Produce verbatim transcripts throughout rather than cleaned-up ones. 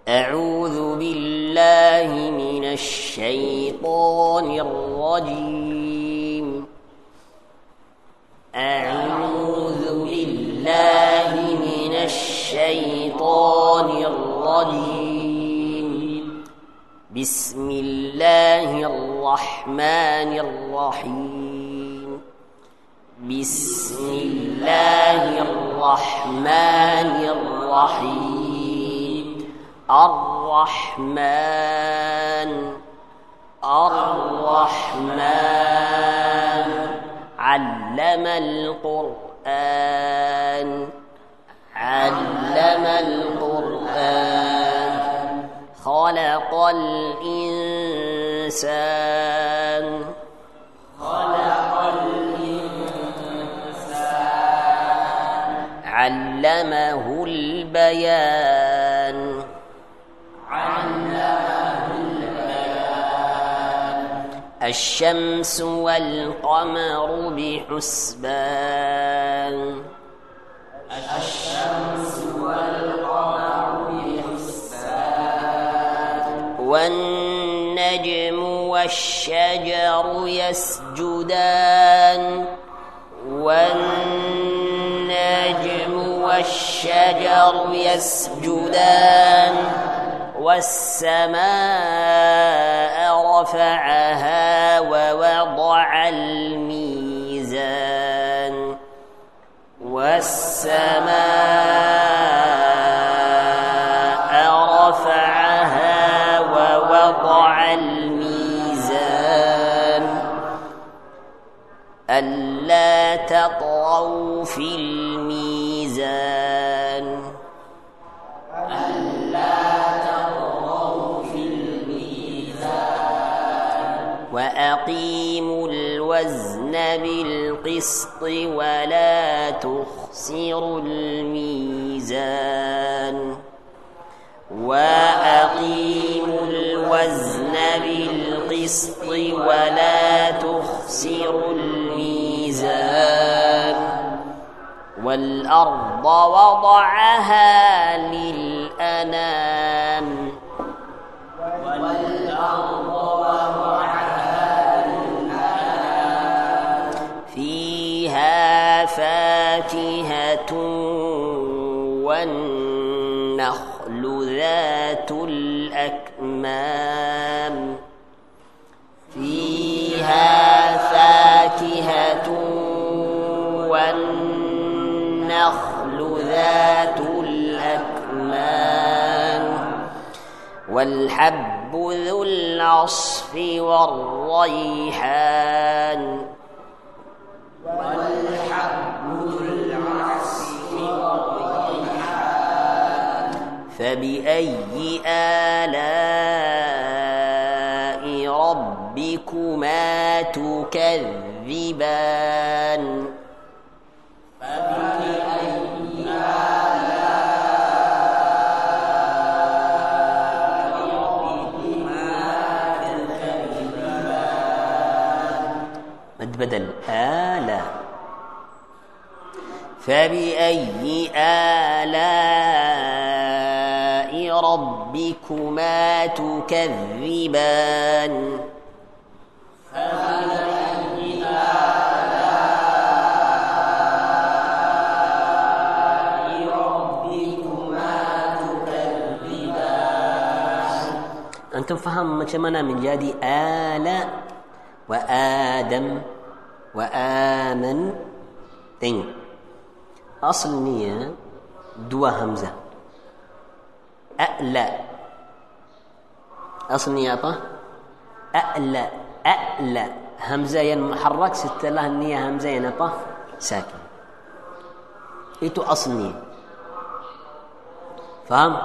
أعوذ بالله من الشيطان الرجيم أعوذ بالله من الشيطان الرجيم بسم الله الرحمن الرحيم بسم الله الرحمن الرحيم الرحمن الرحمن علم القرآن علم القرآن خلق الإنسان خلق الإنسان علمه البيان علمه البيان الشمس والقمر بحسبان الشمس والقمر بحسبان والنجم والشجر يسجدان والنجم والشجر يسجدان والسماء رفعها ووضع الميزان والسماء رفعها ووضع الميزان ألا تطغوا في الميزان وأقيموا الوزن بالقسط ولا تخسروا الميزان وأقيموا الوزن بالقسط ولا تخسروا الميزان والأرض وضعها للأنام والأرض فاكهة والنخل ذات الأكمام فيها فاكهة والنخل ذات الأكمام والحب ذو العصف والريحان والحب ذو العصف والريحان فبأي آلاء ربكما تكذبان فبأي آلاء ربكما تكذبان مد بدل آلاء فبأي آلاء ربكما تكذبان فبأي آلاء ربكما تكذبان أنتم فهم macam mana menjadi آلاء وآدم وآمن tengok asalnya dua hamzah a'la asalnya apa a'la a'la hamzah yang muharrak setelah niya hamzah yang apa sakin itu asalnya faham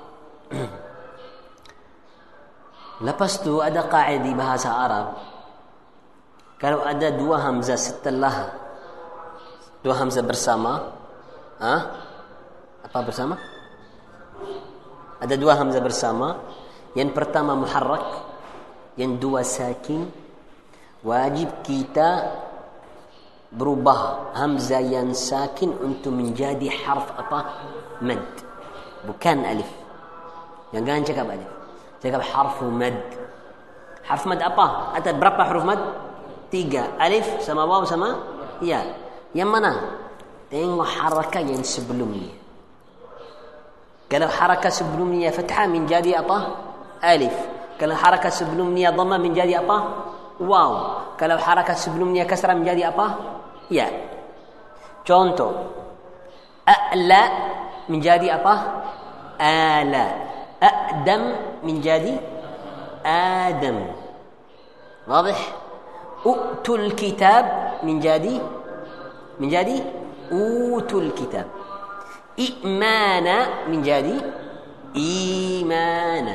lepas tu ada kaidah di bahasa Arab kalau ada dua hamzah setelah dua hamzah bersama ah apa bersama ada dua hamzah bersama yang pertama muharrak yang dua sakin wajib kita berubah hamzah yang sakin untuk menjadi harf apa mad bukan alif Jangan cakap alif. Cakap harfu mad. Harfu mad apa? Ada berapa huruf mad? Tiga. Alif sama waw sama ya. Yang mana? Tengok harakat yang sebelumnya. Kalau harakat sebelumnya fathah menjadi apa? Alif. Kalau harakat sebelumnya dhamma menjadi apa? Waw. Kalau harakat sebelumnya kasrah menjadi apa? Ya. Contoh. A'la menjadi apa? Ala. A'dam menjadi Adam. واضح؟ أؤتوا الكتاب menjadi menjadi أوتوا الكتاب. إيمانا menjadi إيمانا.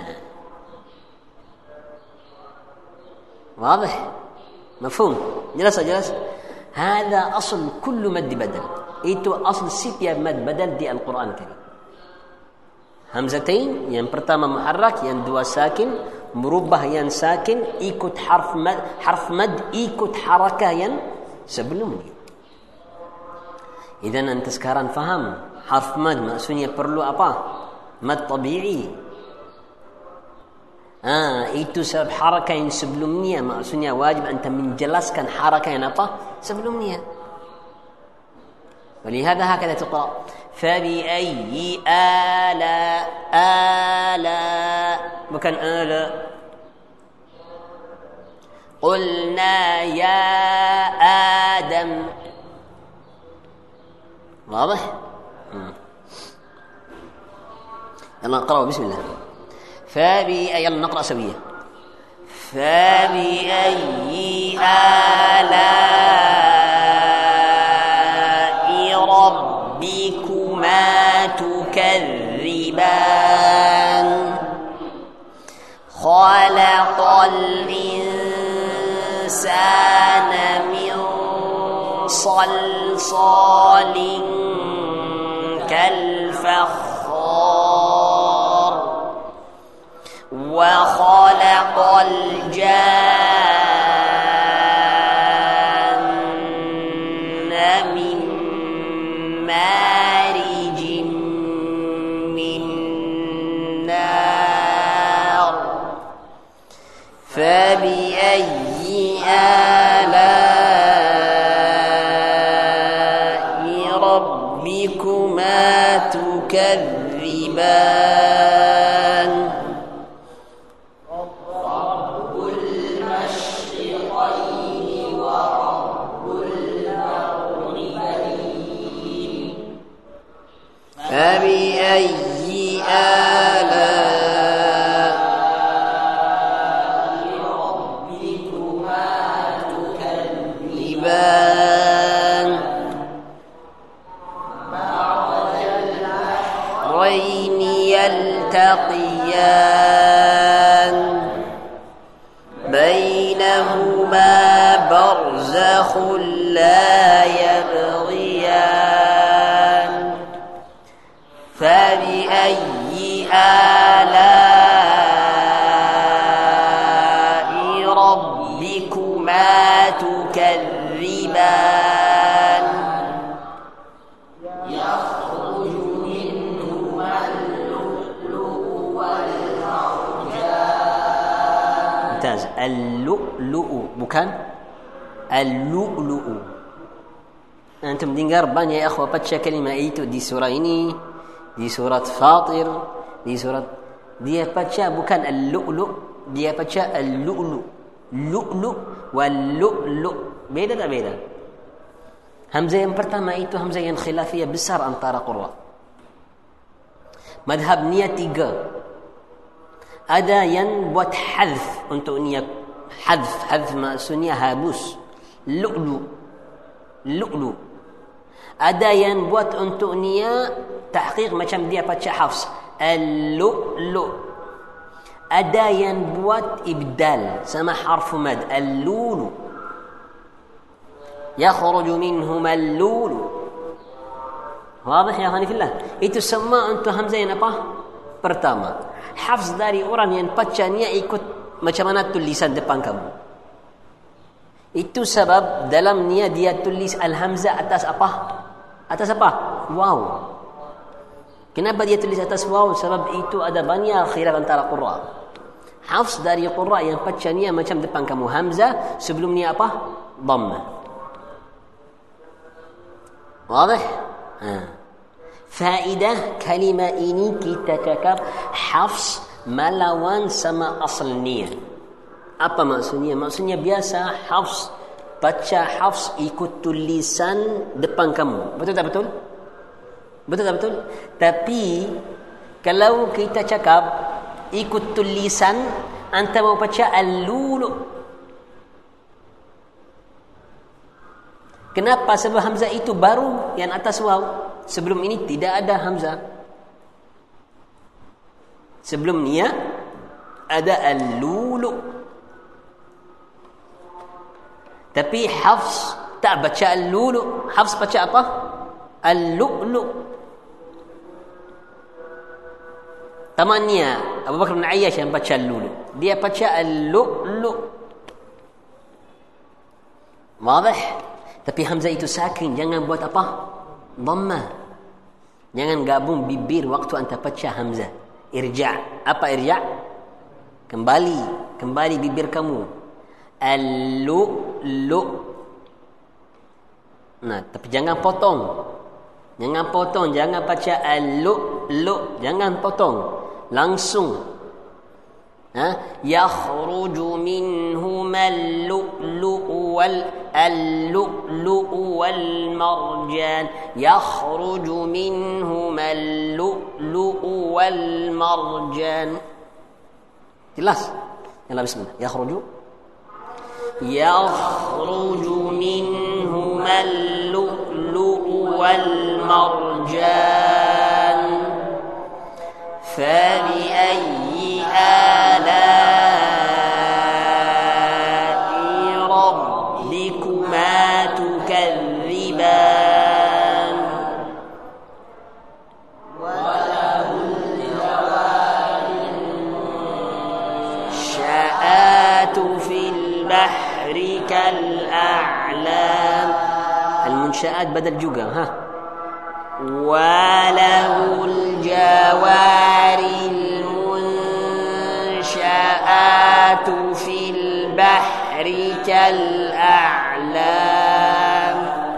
واضح؟ مفهوم؟ جلس جلس. هذا أصل كل مد بدل. Itu asal setiap mad badal di Al-Quran Karim. Hamzatain yang pertama muharrak, yang dua sakin, merubah yang sakin, ikut harf mad, harf mad ikut harakah yang sebelumnya. Idan anta sekarang faham harf mad maksudnya perlu apa? Mad tabi'i. Ah, itu sebab harakah yang sebelumnya maksudnya wajib anta menjelaskan harakah yang apa? Sebelumnya. ولهذا هكذا تقرأ فبأي آلاء آلاء bukan آلاء. قلنا يا آدم. واضح؟ يلا نقرأ بسم الله. فبأي يلا نقرأ سوية. فبأي آلاء ربكما تكذبان. خلق الإنسان من صلصال كالفخار. وخلق الجان من مارج من نار. فبأي آلاء ربكما تكذبان. رب المشرقين ورب المغربين. فبأي آلاء ربكما تكذبان. مرج البحرين يلتقيان. بينهما برزخ لا يبغيان. فبأي آلاء ربكما تكذبان. يخرج منهما اللؤلؤ والمرجان. ممتاز. اللؤلؤ bukan اللؤلؤ. Antum dengar banyak ya akhwat baca kalimah itu di surah ini, di surat Fatir, di surat dia baca bukan al-lu'lu', dia baca al-lu'lu'. Lu'lu' wal lu'lu'. Beda tak beda? Hamzah yang pertama itu hamzah yang khilafiyah besar antara qurra. Madhab niat tiga. Ada yang buat hadf untuk niat hadf, hadf maksudnya habus. Lu'lu'. Lu'lu'. Ada yang buat untuk niat tahqiq macam dia baca hafs. Al-lu'lu'. Ada yang buat ibdal sama harfu mad. Al-lulu. Yakhruju minhum al-lulu. Wadah ya khani fillah. Itu semua untuk hamzah yang apa? Pertama. Hafs dari orang yang baca niat ikut macam mana tulisan depan kamu. Itu sebab dalam niat dia tulis al-hamzah atas apa? Atas apa? Waw. Kenapa dia tulis atas waw? Sebab itu ada banyak khilaf antara qurra. Hafs dari qurra yang bacanya macam depan kamu hamzah, sebelumnya apa? Dhamma. Wadah? Ha. Faedah kalimah ini kita cakap Hafs melawan sama asalnya. Apa maksudnya? Maksudnya biasa Hafs baca Hafs ikut tulisan depan kamu. Betul tak betul? Betul tak betul? Tapi kalau kita cakap ikut tulisan, anta mau baca al-lulu. Kenapa? Sebab hamzah itu baru yang atas waw. Sebelum ini tidak ada hamzah. Sebelumnya ada al-lulu. Tapi Hafs tak baca al-lulu. Hafs baca apa? Al-lu'lu. Temannya Abu Bakar bin Ayyash yang baca al-lulu. Dia baca al-lu'lu. Wadah? Tapi hamzah itu sakin. Jangan buat apa? Dhammah. Jangan gabung bibir waktu anda baca hamzah. Irja'. Apa irja'? Kembali. Kembali bibir kamu. Al-lu'lu. Nah, tapi jangan potong. Jangan potong. Jangan baca al-lu'lu. Jangan potong. Langsung. Ha? Yakhruju minhuma al-lu'lu'u wal al-lu'lu'u wal marjan. Yakhruju minhuma al-lu'lu'u wal marjan. Jelas? Yalla bismillah. Yakhruju yakhruju minhuma al-lu'lu'u wal marjan. فبأي آلاء ربكما تكذبان وله الجوار المنشآت في البحر كالأعلام. المنشآت بدل juga ha. وله الجوار المنشآت في البحر كالأعلام.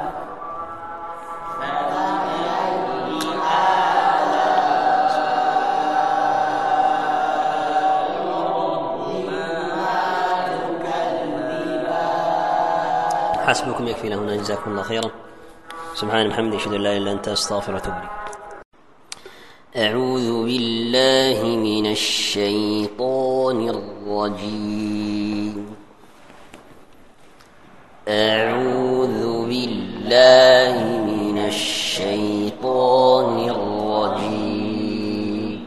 حسبكم يكفي لهنا جزاكم الله خيرا. سبحان محمد أشهد أن لا إله إلا أنت أستغفرك وأتوب إليك. أعوذ بالله من الشيطان الرجيم. أعوذ بالله من الشيطان الرجيم.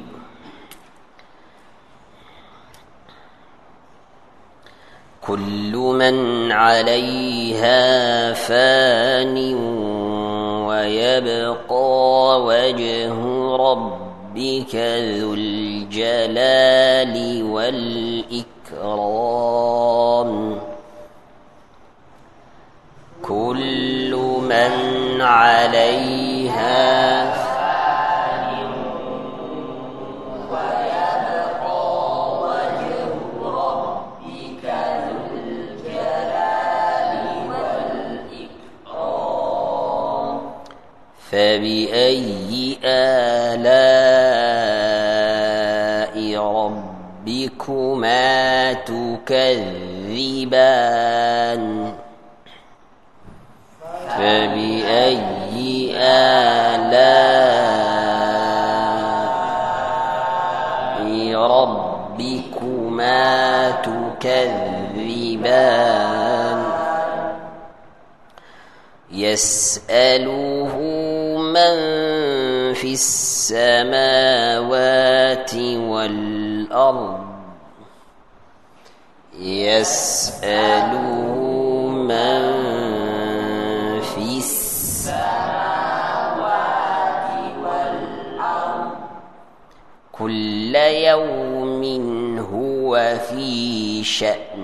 كل من عليها فان ويبقى وجه ربك ذو الجلال والإكرام. كل من عليها فان ويبقى وجه ربك ذو الجلال والإكرام. فبأي آلاء ربكما تكذبان. فبأي آلاء ربكما تكذبان. يسأله من في السماوات والأرض. يسأله من في السماوات والأرض كل يوم هو في شأن.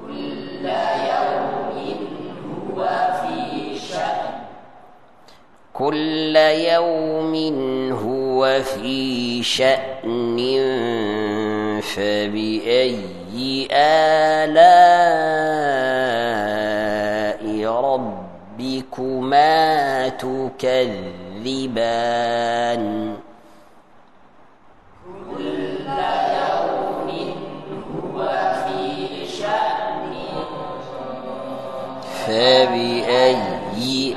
كل يوم هو في شأن. كل يوم هو في شأن فبأي آلاء ربكما تكذبان كل يوم هو في شأن فبأي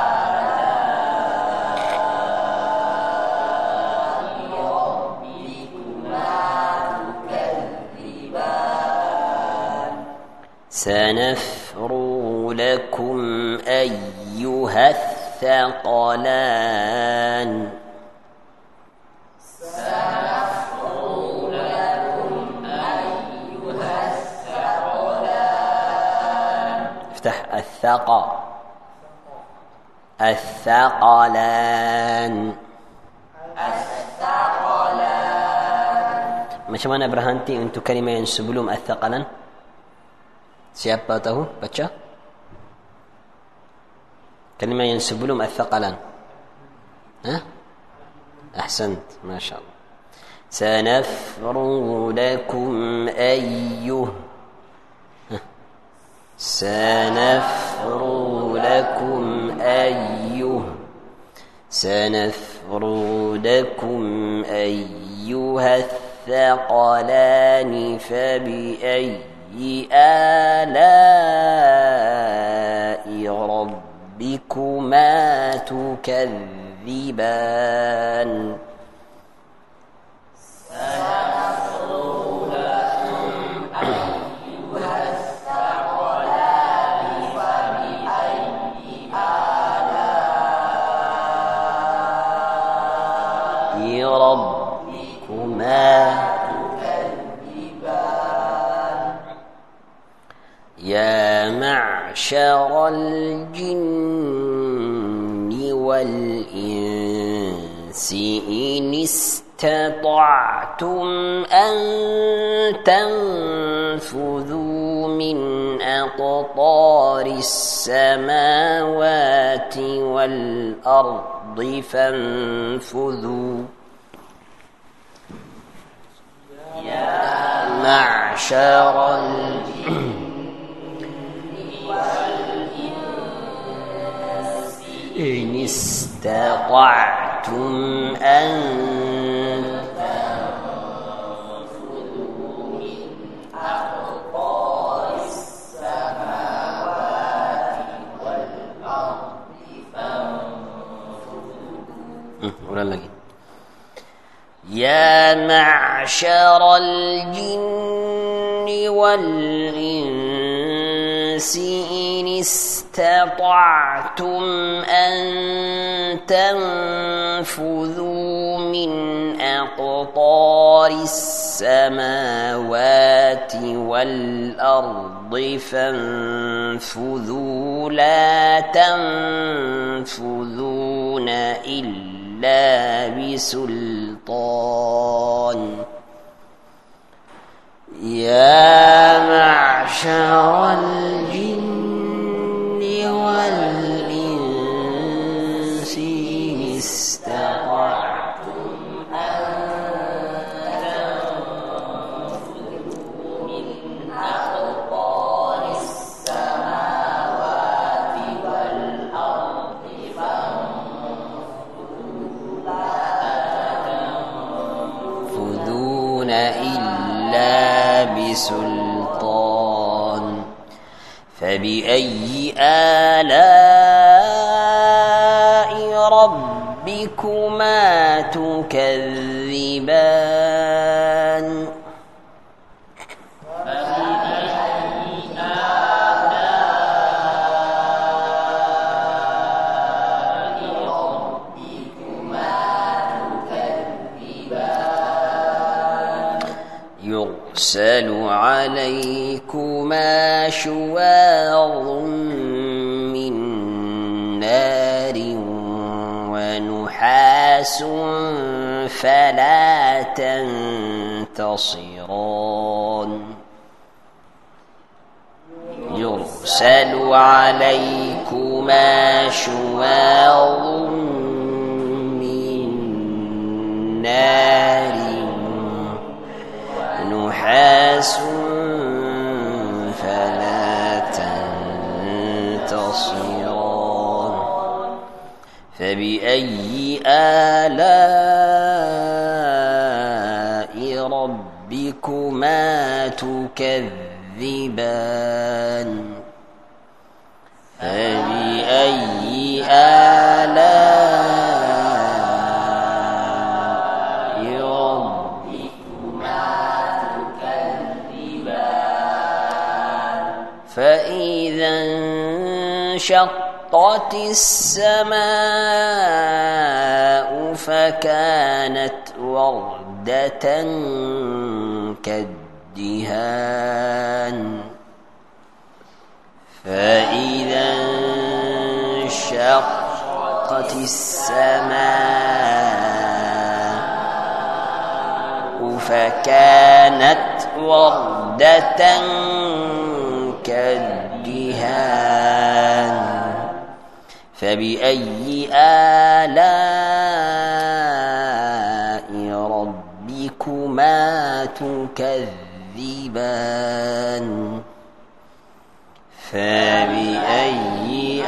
سنفرغ لكم أيها الثقلان سنفرغ لكم أيها الثقلان افتح الثقى الثقلان الثقلان. Macam mana berhenti untuk kalimah yang sebelum الثقلان? Siapa tahu baca kalimah yang sebelum الثقلان؟ ها أحسنت ما شاء الله. سنفرغ لكم أيه سنفرغ لكم أيه سنفرغ لكم أيها الثقلان فبأي آلاء ربكما تكذبان سنفرغ لكم أيها الثقلان فبأي آلاء ربكما يا معشر الجن والإنس إن استطعتم أن تنفذوا من أقطار السماوات والأرض فانفذوا يا معشر الجن إن استطعتم أن تنفذوا من أقطار السماوات والأرض فانفذوا. يا معشر الجن والإنس إن استطعتم أن تنفذوا من أقطار السماوات والأرض فانفذوا لا تنفذون إلا بسلطان. يا معشر الجن والإنس إن استطعتم أن تنفذوا من أقطار السماوات والأرض فانفذوا لا تنفذون إلا بسلطان. فبأي آلاء ربكما تكذبان؟ يرسل عليكما شواظ من نار ونحاس فلا تنتصران. يرسل عليكما شواظ نار نحاس فلا تنتصران فبأي آلاء ربكما تكذبان فبأي آلاء ربكما تكذبان فإذا انشقت السماء فكانت وردة كالدهان فإذا انشقت السماء فكانت وردة كالدهان فبأي آلاء ربكما تكذبان فبأي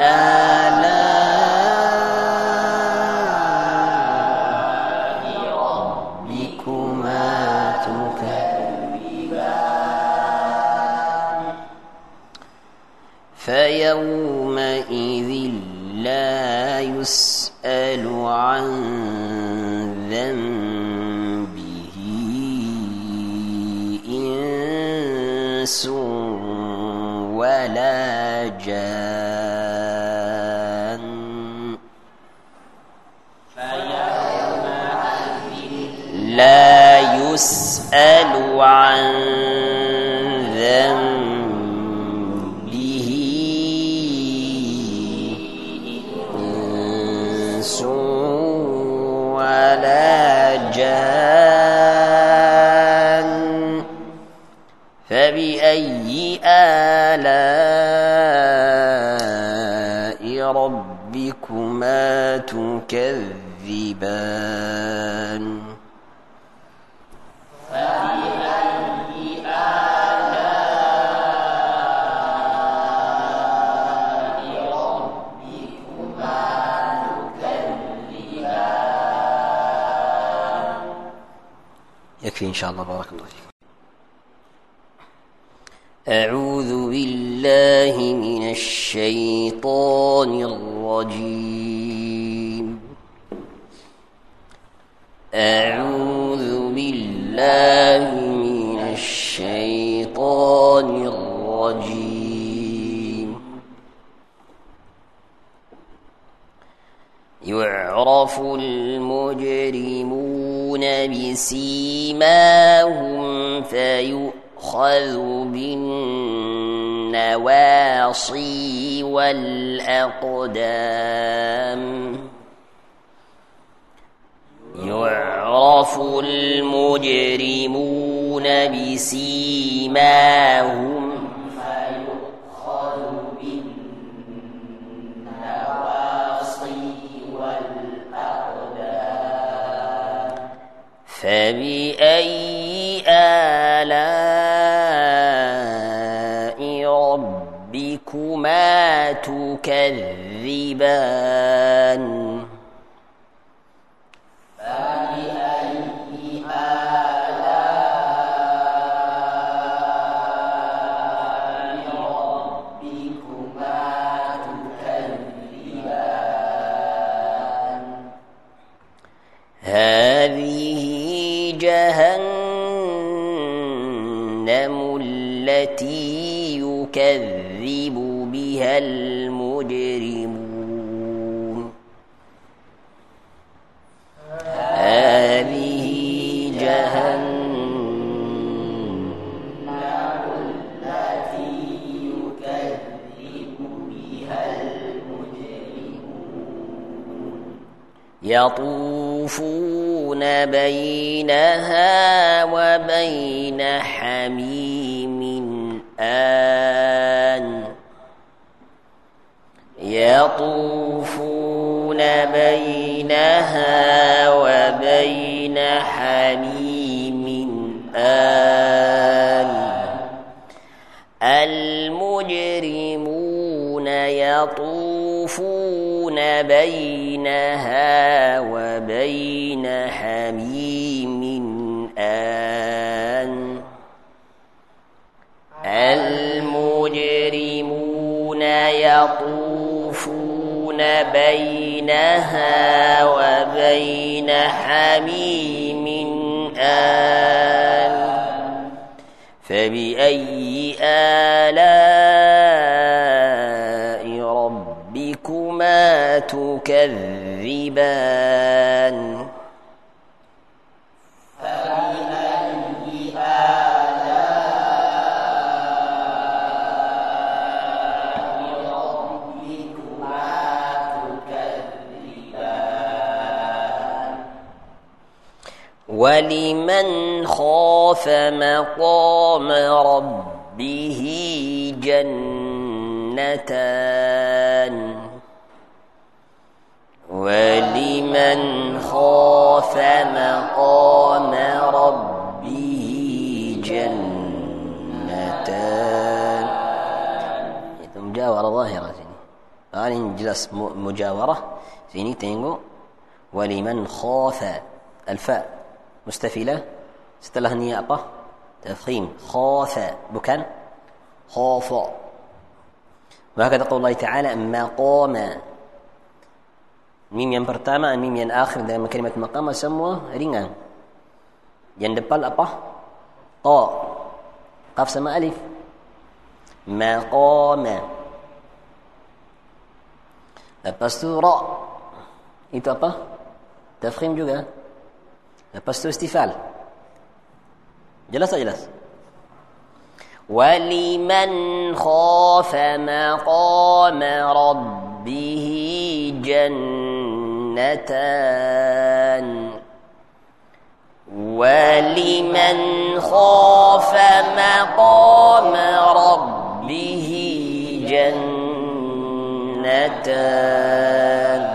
آلاء ربكما تكذبان فيومئذ لا يسأل عن ذنبه إنس ولا جان لا يسأل عن ذنبه إنس ولا جان فبأي آلاء ربكما تكذبان فبأي آلاء ربكما تكذبان يكفي إن شاء الله. بارك الله فيكم. أعوذ بالله من الشيطان الرجيم. أعوذ بالله من الشيطان الرجيم. يعرف المجرمون بسيماهم فيؤخذ بالنواصي والأقدام. يعرف المجرمون بسيماهم فيؤخذ بالنواصي والأقدام. فبأي آلاء ربكما تكذبان. هذه جهنم التي يكذب بها المجرمون. هذه جهنم التي يكذب بها المجرمون. يطوفون بينها وبين حميم آن. يطوفون بينها وبين حميم آن المجرمون يطوفون بينها وبين حميم آن المجرمون يطوفون بينها وبين حميم آن فبأي آلاء ربكما تكذبان ولمن خاف مقام ربه جنتان ولمن خاف مقام ربه جنتان. Itu mujawarah zahirah sini. Ah, ini jelas mujawarah. Sini tengok waliman khafa al-fa مستفيلة setelah ni apa? Tafkhim. Khafa bukan khafa. Maka kata Allah Ta'ala maqama. Mim yang pertama, mim yang akhir dalam kalimat maqama semua ringan. Yang depan apa? Ta. Qaf sama alif. Maqama. Lepas tu ra. Itu apa? Tafkhim juga. Lepas tu istifal. Jelas tak jelas? وَلِمَنْ خَافَ مَقَامَ رَبِّهِ جَنَّتَانِ وَلِمَنْ خَافَ مَقَامَ رَبِّهِ جَنَّتَانِ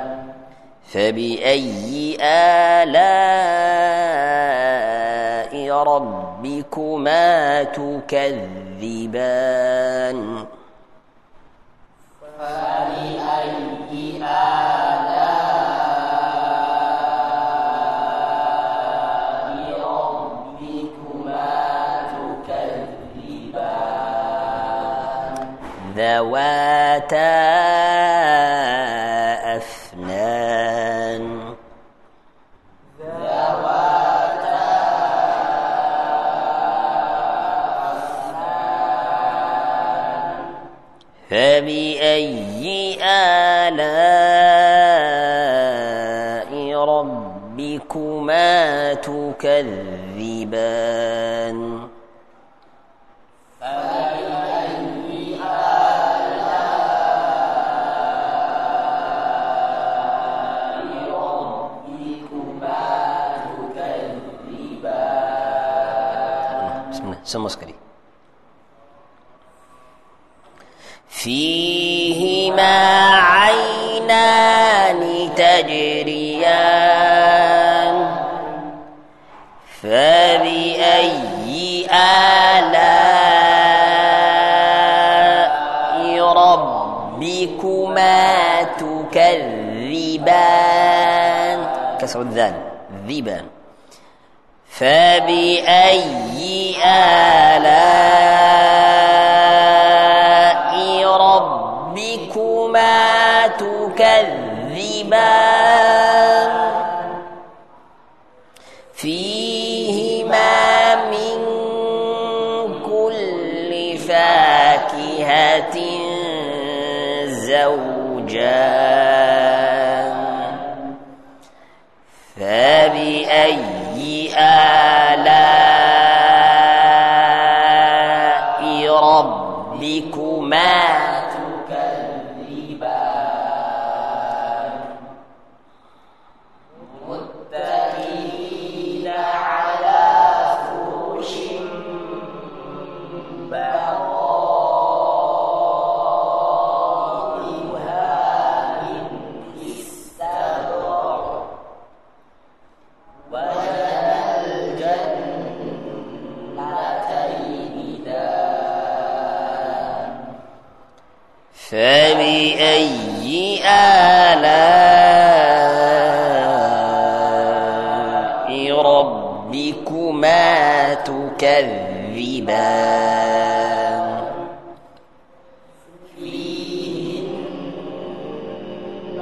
فبأي آلاء ربكما تكذبان فبأي آلاء ربكما تكذبان ذواتا أفنان فبأي آلاء ربكما تكذبان فبأي آلاء ربكما تكذبان. بسم الله semua sekali. فيهما عينان تجريان فبأي آلاء ربكما تكذبان كسر الذال ذيبان فبأي آلاء ربكما تكذبان فيهما من كل فاكهة زوجان فبأي آلاء فبأي آلاء ربكما تكذبان فيهن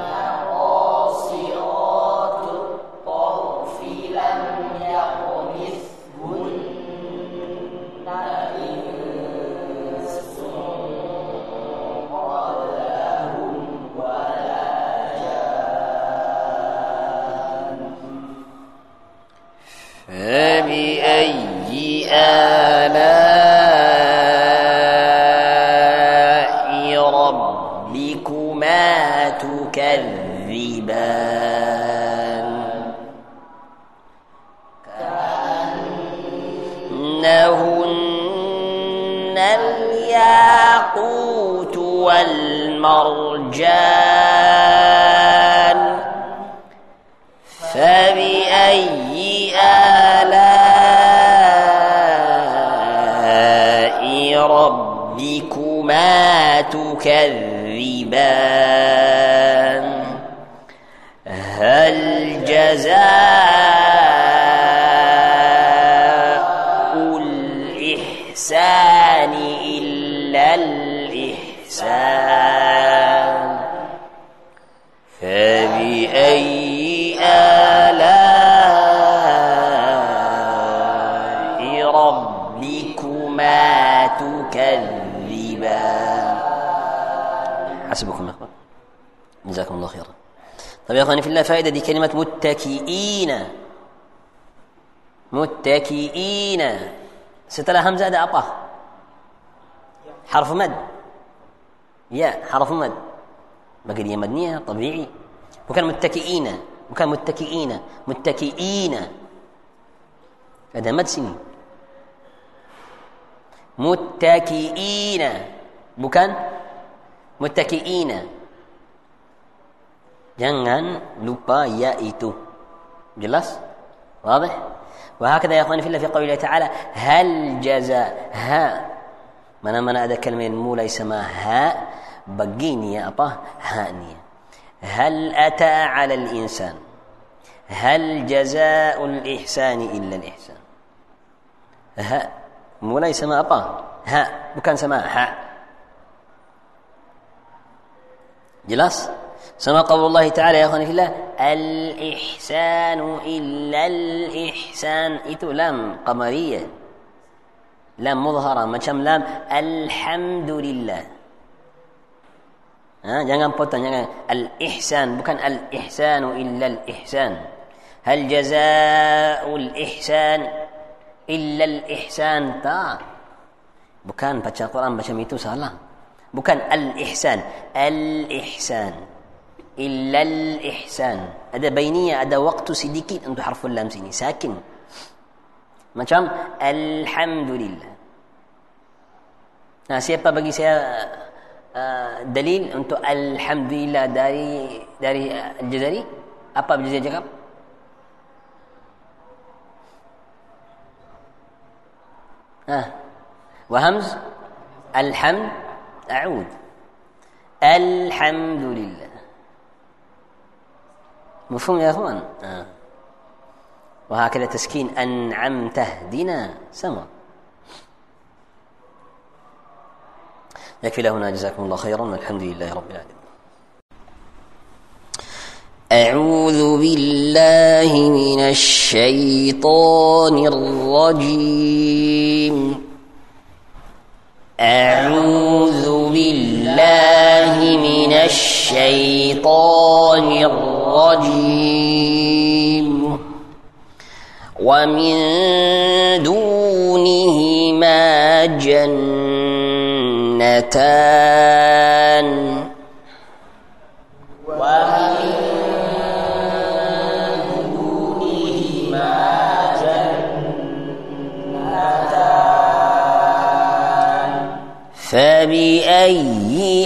قاصرات الطرف لم يطمثهن إنس قبلهم ولا جان فبأي آلاء ربكما تكذبان كأنهن الياقوت والمرجان فبأي آلاء ربكما تكذبان هل جزاء الإحسان إلا الإحسان فبأي آلاء ربكما تكذبان حسبكم يا أخوان جزاكم الله خيرا. طيب يا أخواني في الله فائدة دي كلمة متكئين متكئين setelah hamzah ada apa? Harf mad. Ya, harf mad. Bagi dia madniyah tabi'i. Bukan muttaki'ina, bukan muttaki'ina, muttaki'ina. Ada mad sini. Muttaki'ina, bukan muttaki'ina. Jangan lupa ya itu. Jelas? واضح؟ وهكذا يا اخواني في الله في قوله تعالى هل جزاء ها mana-mana ada kalimah yang mulai sama ha begini ya apa ha ni hal ata 'ala al-insan hal jazaa'ul ihsani illa al-ihsan ha mulai sama apa ha bukan sama ha jelas sama qaulullah ta'ala ya akhwani fillah al-ihsanu illa al-ihsan itu lam qamariyah lam mudhara macam lam alhamdulillah ha jangan potong jangan al-ihsan bukan al-ihsanu illa al-ihsan hal jazaa'ul ihsan illa al-ihsan ta bukan baca Quran macam itu salah bukan al-ihsan al-ihsan illa al-ihsan ada bainiyah ada waktu sedikit untuk harful lam sini sakin macam alhamdulillah. Nah, siapa bagi saya uh, dalil untuk alhamdulillah dari dari Al-Jazari? Apa Al-Jazari cakap? Ah. Wa hamz alhamd a'ud. Alhamdulillah. مفهوم يا اخوان آه. وهكذا تسكين أنعمت اهدنا سما يكفي له هنا جزاكم الله خيرا والحمد لله رب العالمين أعوذ بالله من الشيطان الرجيم أعوذ بالله من الشيطان الرجيم ومن دونهما جنتان ومن دونهما جنتان فبأي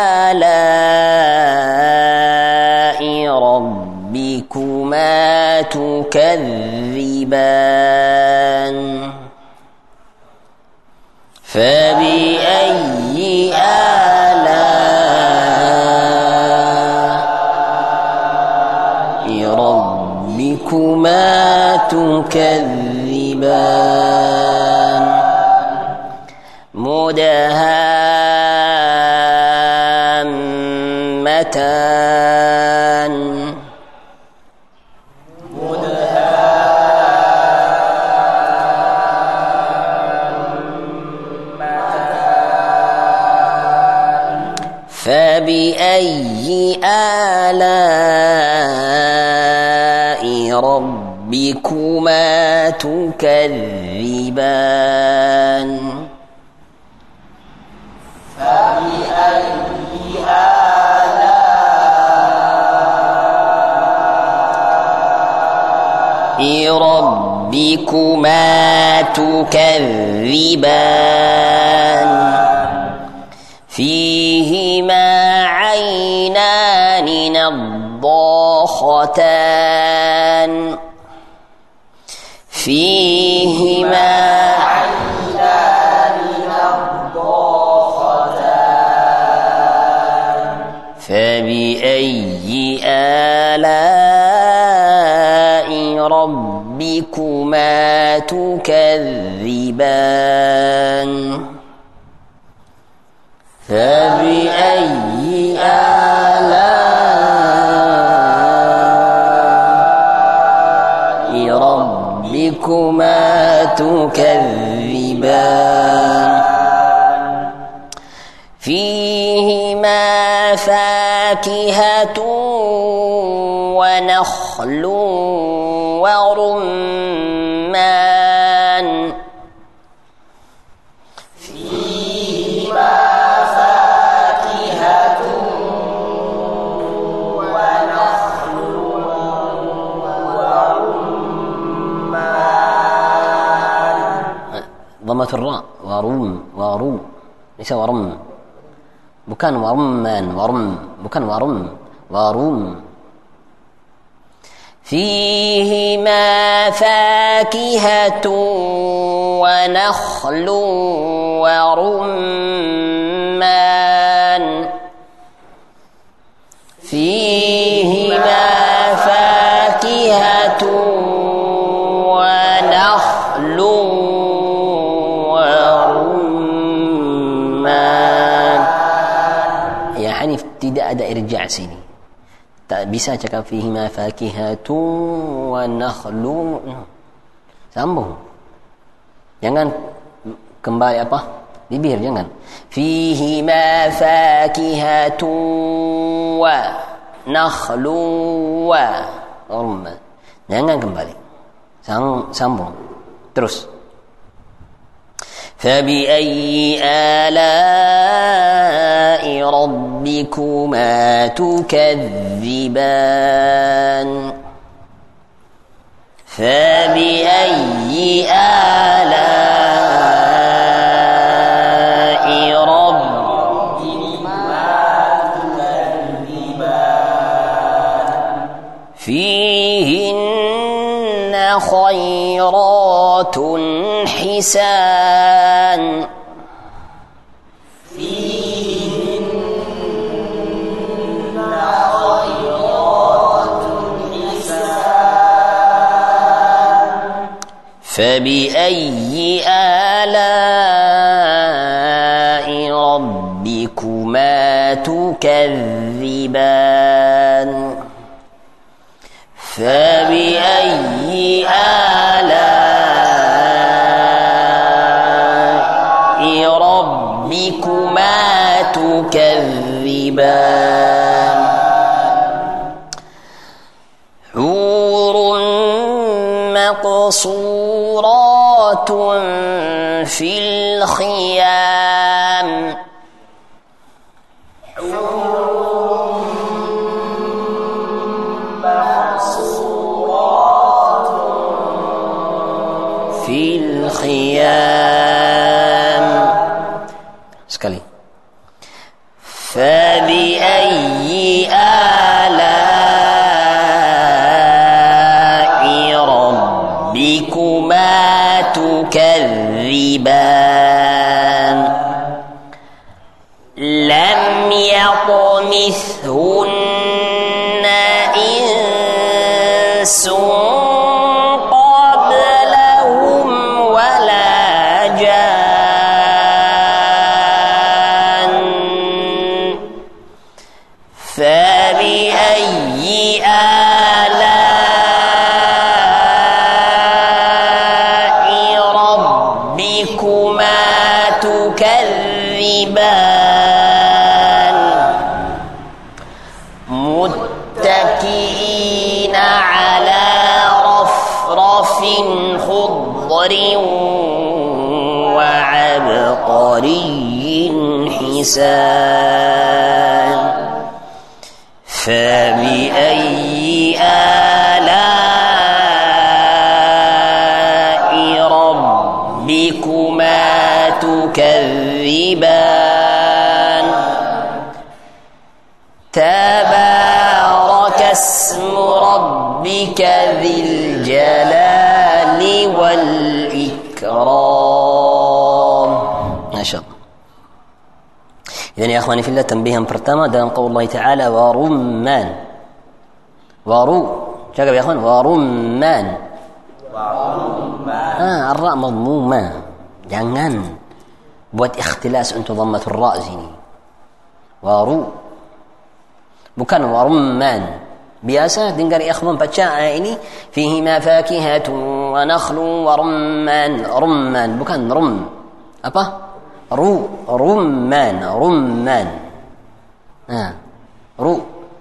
آلاء ربكما تكذبان فبأي آلاء ربكما تكذبان مدهامتان فبأي آلاء ربكما تكذبان فبأي آلاء ربكما تكذبان فيهما عينان نضاختان فيهما عينان نضاختان فبأي آلاء ربكما تكذبان فبأي آلاء ربكما تكذبان فيهما فاكهة ونخل ورمان ضمة الراء ورم ورم ليس ورم bukan ورمان ورم bukan ورم ورم فيهما فاكهة ونخل ورمان فيهما فاكهة ونخل tidak ada irja' sini. Tak bisa cakap fihima fakihatun wa nakhlun. Sambung. Jangan kembali apa? Bibir jangan. Fihima fakihatun wa nakhlun wa rumman. Jangan kembali. Sambung. Terus. فبأي آلاء ربكما تكذبان فبأي آلاء ربكما تكذبان فيهن خيرات حسان فيهن خيرات حسان فبأي آلاء ربكما تكذبان فبأي آلاء ربكما تكذبان حور مقصورات في الخيام في الخيام sekali فبأي آلاء ربكما تكذبان لم يطمثهن إنس تكذبان متكئين على رفرف خضر وعبقري حسان فبأي آلاء ربكما تكذبان تبارك اسم ربك ذي الجلال والإكرام. ما شاء الله. إذن يا أخواني في الله تنبيها pertama dalam قول الله تعالى ورمان ورو cakap ya أخوان ورمان ah الراء مضمومة jangan buat ikhtilas untuk dhammatul ra sini waru bukan warumman. Biasa dengar ikhwan baca ayat ini fihi ma fakihatun wa nakhlu wa rumman rumman bukan rum apa ru rumman rumman ha ru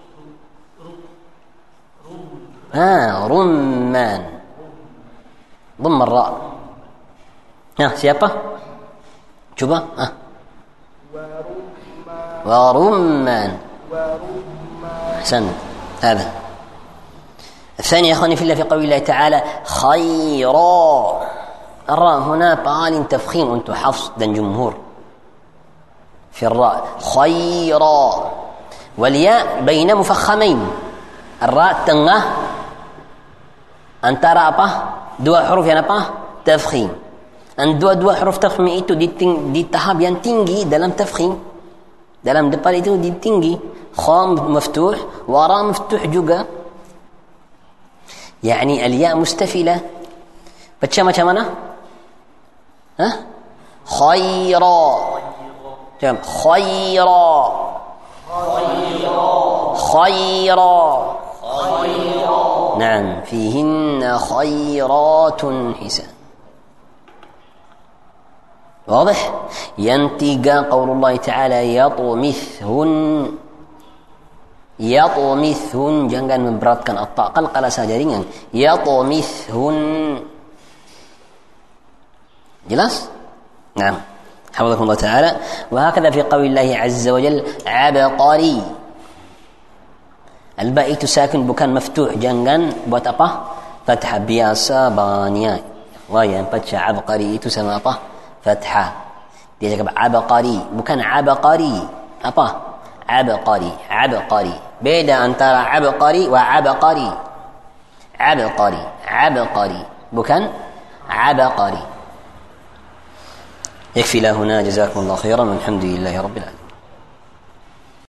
ha rumman ضم الراء. Nah, siapa? Coba. Ah. ورمان أحسن. هذا الثاني يا أخواني في الله في قول الله تعالى خيرا. الراء هنا طال تفخيم أنتم حفص dan جمهور في الراء خيرا والياء بين مفخمين. الراء tengah antara apa? Dua huruf yang apa? Tafkhim. Dan dua-dua huruf tafkhim itu di, ting- di tahap yang tinggi dalam tafkhim. Dalam depan itu di tinggi. Kha maftuh, wa ra maftuh juga. Yani al-ya mustafila. Baca macam mana? Hah? Khaira. Jom. Khaira. Khaira. Khaira. Khaira. نعم فيهن خيرات حسان. واضح. ينتقى قول الله تعالى يطمثهن يطمثهن jangan memberatkan at-ta qalqala saja ringan يطمثهن jelas. نعم حفظكم الله تعالى. وهكذا في قول الله عز وجل عبقري. Al-ba itu sakin bukan maftuh, jangan buat apa? Fathah biasa banyak. Wah, yang baca abqari itu sama apa? Fathah. Dia cakap abqari, bukan abqari. Apa? Abqari, abqari. Beda antara abqari wa abqari. Abqari, abqari, bukan abqari. يكفي لا هنا جزاكم الله خيرا والحمد لله رب العالمين.